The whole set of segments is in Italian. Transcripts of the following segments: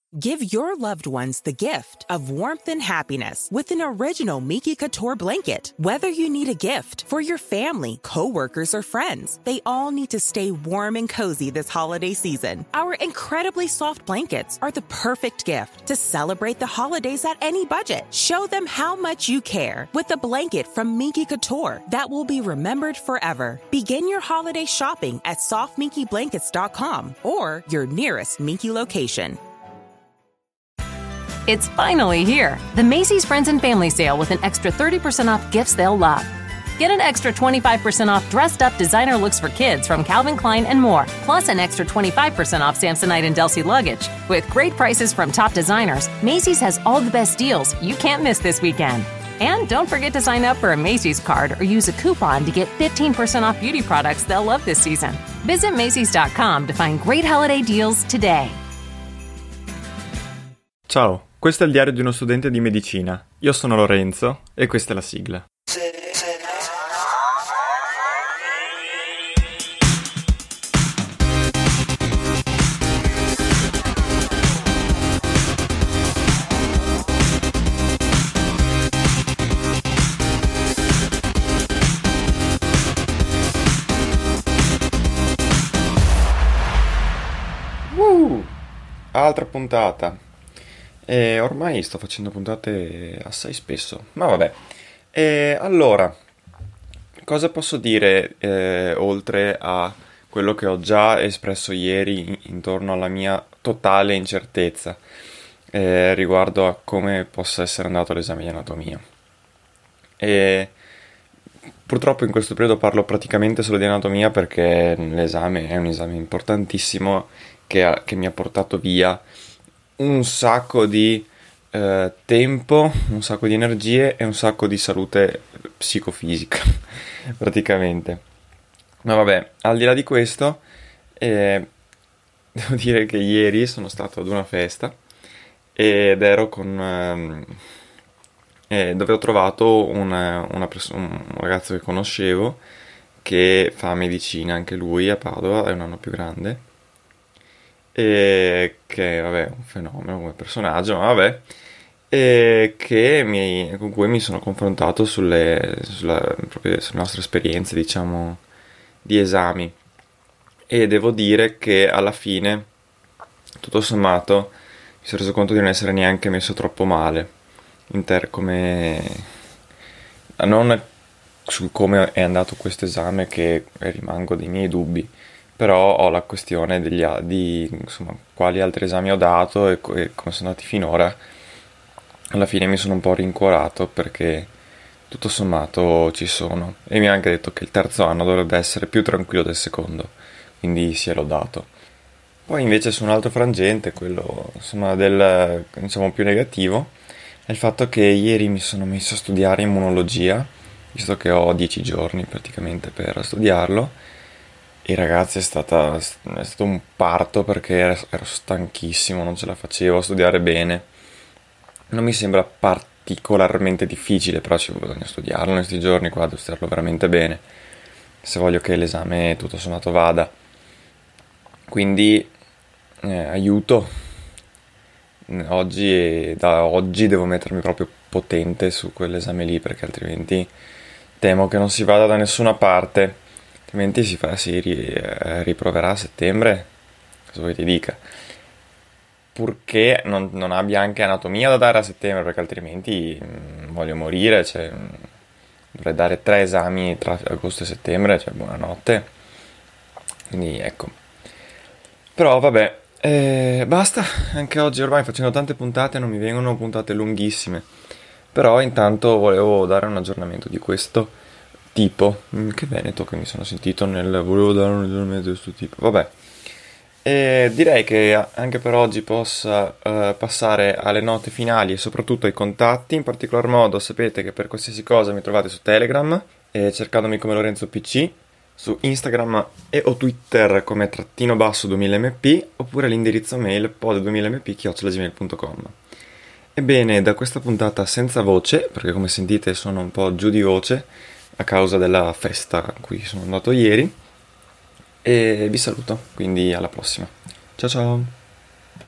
Give your loved ones the gift of warmth and happiness with an original Miki Couture blanket. Whether you need a gift for your family, coworkers, or friends, they all need to stay warm and cozy this holiday season. Our incredibly soft blankets are the perfect gift to celebrate the holidays at any budget. Show them how much you care with a blanket from Miki Couture that will be remembered forever. Begin your holiday shopping at softmikiblankets.com or your nearest Miki location. It's finally here, the Macy's Friends and Family Sale with an extra 30% off gifts they'll love. Get an extra 25% off dressed-up designer looks for kids from Calvin Klein and more, plus an extra 25% off Samsonite and Delsey luggage. With great prices from top designers, Macy's has all the best deals you can't miss this weekend. And don't forget to sign up for a Macy's card or use a coupon to get 15% off beauty products they'll love this season. Visit Macys.com to find great holiday deals today. Ciao, questo è il diario di uno studente di medicina. Io sono Lorenzo e questa è la sigla. Altra puntata. Ormai sto facendo puntate assai spesso, ma vabbè. Allora, cosa posso dire oltre a quello che ho già espresso ieri intorno alla mia totale incertezza riguardo a come possa essere andato l'esame di anatomia? Purtroppo in questo periodo parlo praticamente solo di anatomia perché l'esame è un esame importantissimo che mi ha portato via un sacco di tempo, un sacco di energie e un sacco di salute psicofisica, praticamente. Ma vabbè, al di là di questo, devo dire che ieri sono stato ad una festa ed ero con... dove ho trovato un ragazzo che conoscevo che fa medicina anche lui a Padova, è un anno più grande. E che vabbè è un fenomeno come personaggio, ma vabbè, con cui mi sono confrontato proprio sulle nostre esperienze, diciamo, di esami, e devo dire che alla fine tutto sommato mi sono reso conto di non essere neanche messo troppo male non su come è andato questo esame, che rimango dei miei dubbi. Però ho la questione di insomma, quali altri esami ho dato e come sono andati finora. Alla fine mi sono un po' rincuorato perché tutto sommato ci sono. E mi ha anche detto che il terzo anno dovrebbe essere più tranquillo del secondo, quindi si è lodato. Poi invece su un altro frangente, quello insomma diciamo più negativo, è il fatto che ieri mi sono messo a studiare immunologia, visto che ho 10 giorni praticamente per studiarlo. E ragazzi è stato un parto perché ero stanchissimo, non ce la facevo a studiare bene. Non mi sembra particolarmente difficile, però ci bisogna studiarlo in questi giorni qua, devo studiarlo veramente bene se voglio che l'esame tutto sommato vada. Quindi aiuto. Da oggi devo mettermi proprio potente su quell'esame lì, perché altrimenti temo che non si vada da nessuna parte. Altrimenti riproverà a settembre, cosa vuoi ti dica? Purché non abbia anche anatomia da dare a settembre, perché altrimenti voglio morire, cioè, dovrei dare 3 esami tra agosto e settembre, cioè buonanotte. Quindi ecco. Però vabbè, basta, anche oggi ormai facendo tante puntate non mi vengono puntate lunghissime. Però intanto volevo dare un aggiornamento di questo tipo. Che veneto che mi sono sentito volevo dare un aggiornamento di questo tipo. Vabbè, direi che anche per oggi possa passare alle note finali e soprattutto ai contatti. In particolar modo sapete che per qualsiasi cosa mi trovate su Telegram, cercandomi come Lorenzo PC, su Instagram o Twitter come _2000mp, oppure l'indirizzo mail pod2000mp@gmail.com. Ebbene, da questa puntata senza voce, perché come sentite sono un po' giù di voce a causa della festa a cui sono andato ieri, e vi saluto, quindi alla prossima. Ciao ciao!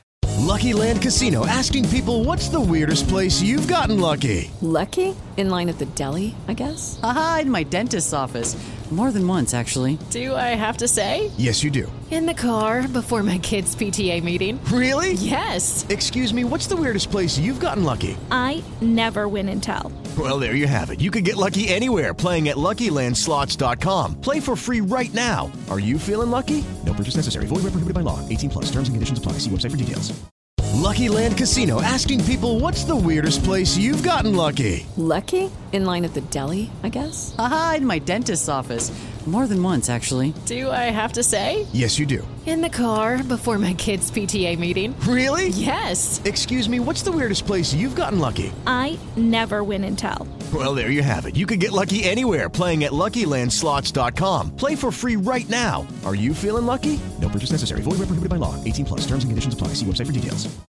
Lucky Land Casino, asking people, what's the weirdest place you've gotten lucky? Lucky? In line at the deli, I guess? Aha, in my dentist's office. More than once, actually. Do I have to say? Yes, you do. In the car before my kids' PTA meeting. Really? Yes. Excuse me, what's the weirdest place you've gotten lucky? I never win and tell. Well, there you have it. You can get lucky anywhere, playing at LuckyLandSlots.com. Play for free right now. Are you feeling lucky? No purchase necessary. Void where prohibited by law. 18+. Terms and conditions apply. See website for details. Lucky Land Casino, asking people, what's the weirdest place you've gotten lucky? Lucky? In line at the deli, I guess? Aha, in my dentist's office. More than once, actually. Do I have to say? Yes, you do. In the car before my kids' PTA meeting. Really? Yes. Excuse me, what's the weirdest place you've gotten lucky? I never win and tell. Well, there you have it. You can get lucky anywhere, playing at LuckyLandSlots.com. Play for free right now. Are you feeling lucky? No purchase necessary. Void where prohibited by law. 18+. Terms and conditions apply. See website for details.